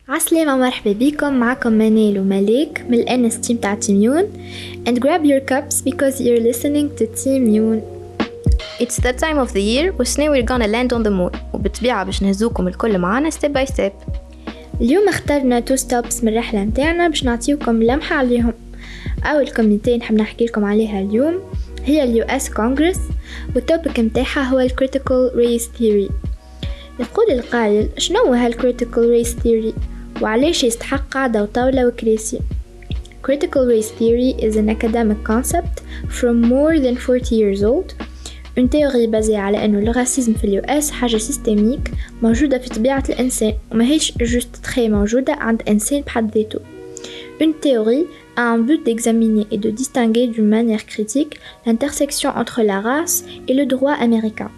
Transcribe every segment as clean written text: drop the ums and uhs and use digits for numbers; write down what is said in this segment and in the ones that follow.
عسلامة، مرحبا بكم. معكم منال وملاك من الNS team تاع تيميون. And grab your cups because you're listening to تيميون. It's that time of the year وسنة we're gonna land on the moon، وبالطبيعة باش نهزوكم الكل معانا step by step. اليوم اخترنا 2 stops من الرحلة متاعنا باش نعطيوكم لمحة عليهم. أول كوميتين نحب نحكي لكم عليها اليوم هي ال US Congress، والتوبيك متاعها هو Critical Race Theory. يقول القائل شنو هال Critical Race Theory وعليش يستحق قاعدة وطاولة وكراسي. Critical Race Theory is an academic concept from more than 40 years old. Une théorie basée على أنه الراسيزم في اليو حاجة سيستميك موجودة في طبيعة الإنسان وما هيش جوست تخي موجودة عند إنسان بحد ذاته. Une théorie a un but d'examiner et de distinguer d'une manière critique l'intersection entre la race et le droit américain.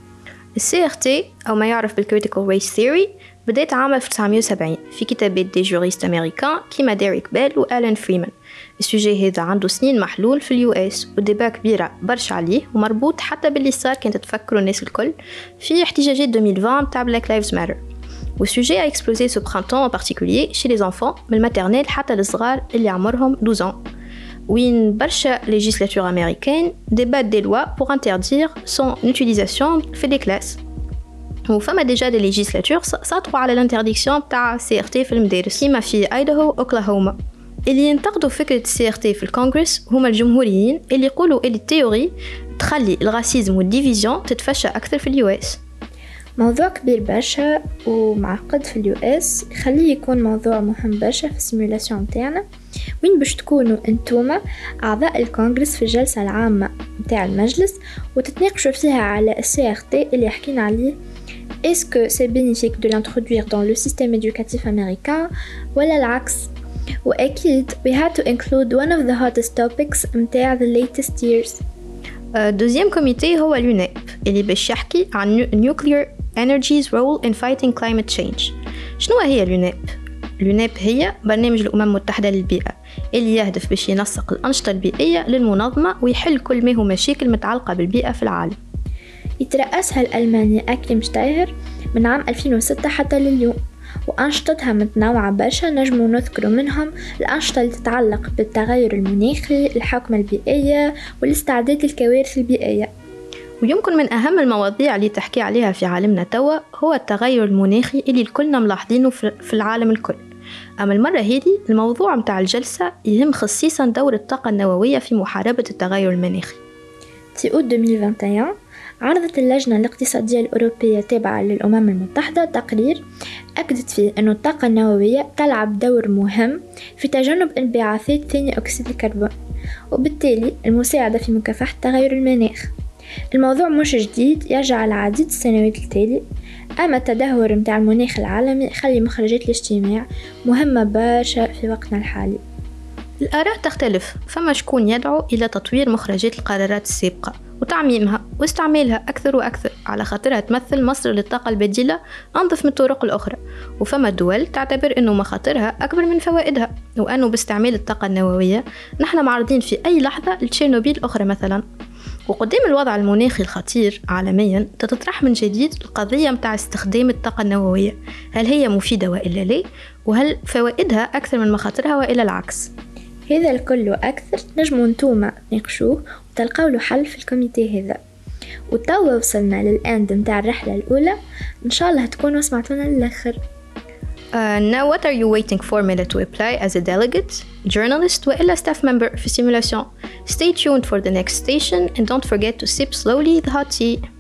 CRT أو ما يعرف بالcritical race theory بدأت عام 1970 في كتابات دي جوريست أمريكان كيما ديريك بيل وآلان فريمان. السوجي هذا عنده سنين محلول في اليو وديبا كبيرة برشا عليه ومربوط حتى باللي صار كانت تفكروا الناس الكل في احتجاجات 2020 تاع Black Lives Matter. والسوجي a explosé ce printemps en particulier chez les enfants من الماترنيل حتى الصغار اللي عمرهم 12 ans. وين برشا législature américaine débattent des lois pour interdire son utilisation في les classes. وفما ديجا دي ليجيسلاتور ساطروا على الانترديكسيون تاع CRT في المدارس كيما في ايداهو اوكلاهوما. اللي ينتقدوا فكرة CRT في الكونغرس هما الجمهوريين اللي يقولوا اللي التيوري تخلي الراسيزم والديفيزيون تتفشى أكثر في اليو موضوع كبير برشا ومعقد في اليو يخليه يكون موضوع مهم برشا في السيمولاسيون متاعنا، وين باش تكونوا انتوما أعضاء الكونغرس في الجلسة العامة متاع المجلس وتتناقشوا فيها على CRT اللي حكينا عليه. Est-ce que c'est bénéfique de l'introduire dans le système éducatif américain ولا العكس؟ وأكيد we had to include one of the hottest topics متاع the latest years. دوزيام كوميتي هو اليونيب اللي باش يحكي عن nuclear energy's role in fighting climate change. شنو هي اليونيب؟ اليونيب هي برنامج الأمم المتحدة للبيئة اللي يهدف باش ينسق الأنشطة البيئية للمنظمة ويحل كل ما هو مشاكل متعلقة بالبيئة في العالم. يترأسها الألماني أكليم شتاير من عام 2006 حتى لليوم، وأنشطتها متنوعة برشا. نجمو نذكر منهم الأنشطة اللي تتعلق بالتغير المناخي، الحوكمة البيئية، والاستعداد للكوارث البيئية. ويمكن من أهم المواضيع اللي تحكي عليها في عالمنا توا هو التغير المناخي اللي الكلنا ملاحظينه في العالم الكل. أما المرة هذه الموضوع متاع الجلسة يهم خصيصا دور الطاقة النووية في محاربة التغير المناخي. في أوت 2021 عرضت اللجنة الاقتصادية الأوروبية تابعة للأمم المتحدة تقرير أكدت فيه أن الطاقة النووية تلعب دور مهم في تجنب انبعاثات ثاني أكسيد الكربون وبالتالي المساعدة في مكافحة تغير المناخ. الموضوع مش جديد، يرجع لعديد السنوات التالي، أما التدهور متاع المناخ العالمي يخلي مخرجات الاجتماع مهمة برشا في وقتنا الحالي. الآراء تختلف، فما شكون يدعو إلى تطوير مخرجات القرارات السابقة وتعميمها واستعمالها أكثر وأكثر على خاطرها تمثل مصدر للطاقة البديلة أنظف من الطرق الأخرى، وفما دول تعتبر أنه مخاطرها أكبر من فوائدها وأنه باستعمال الطاقة النووية نحن معرضين في أي لحظة لتشيرنوبيل أخرى مثلا. وقدام الوضع المناخي الخطير عالميا تتطرح من جديد القضية متاع استخدام الطاقة النووية، هل هي مفيدة وإلا لا؟ وهل فوائدها أكثر من مخاطرها وإلا العكس؟ هذا الكل وأكثر نجموا نتوما تناقشوه وتلقاو له حل في الكوميتي هذا. وتوا وصلنا للأند متاع الرحلة الأولى، إن شاء الله تكونوا سمعتونا للآخر. Now what are you waiting for to apply as a delegate, journalist وإلا staff member في simulation? Stay tuned for the next station and don't forget to sip slowly the hot tea.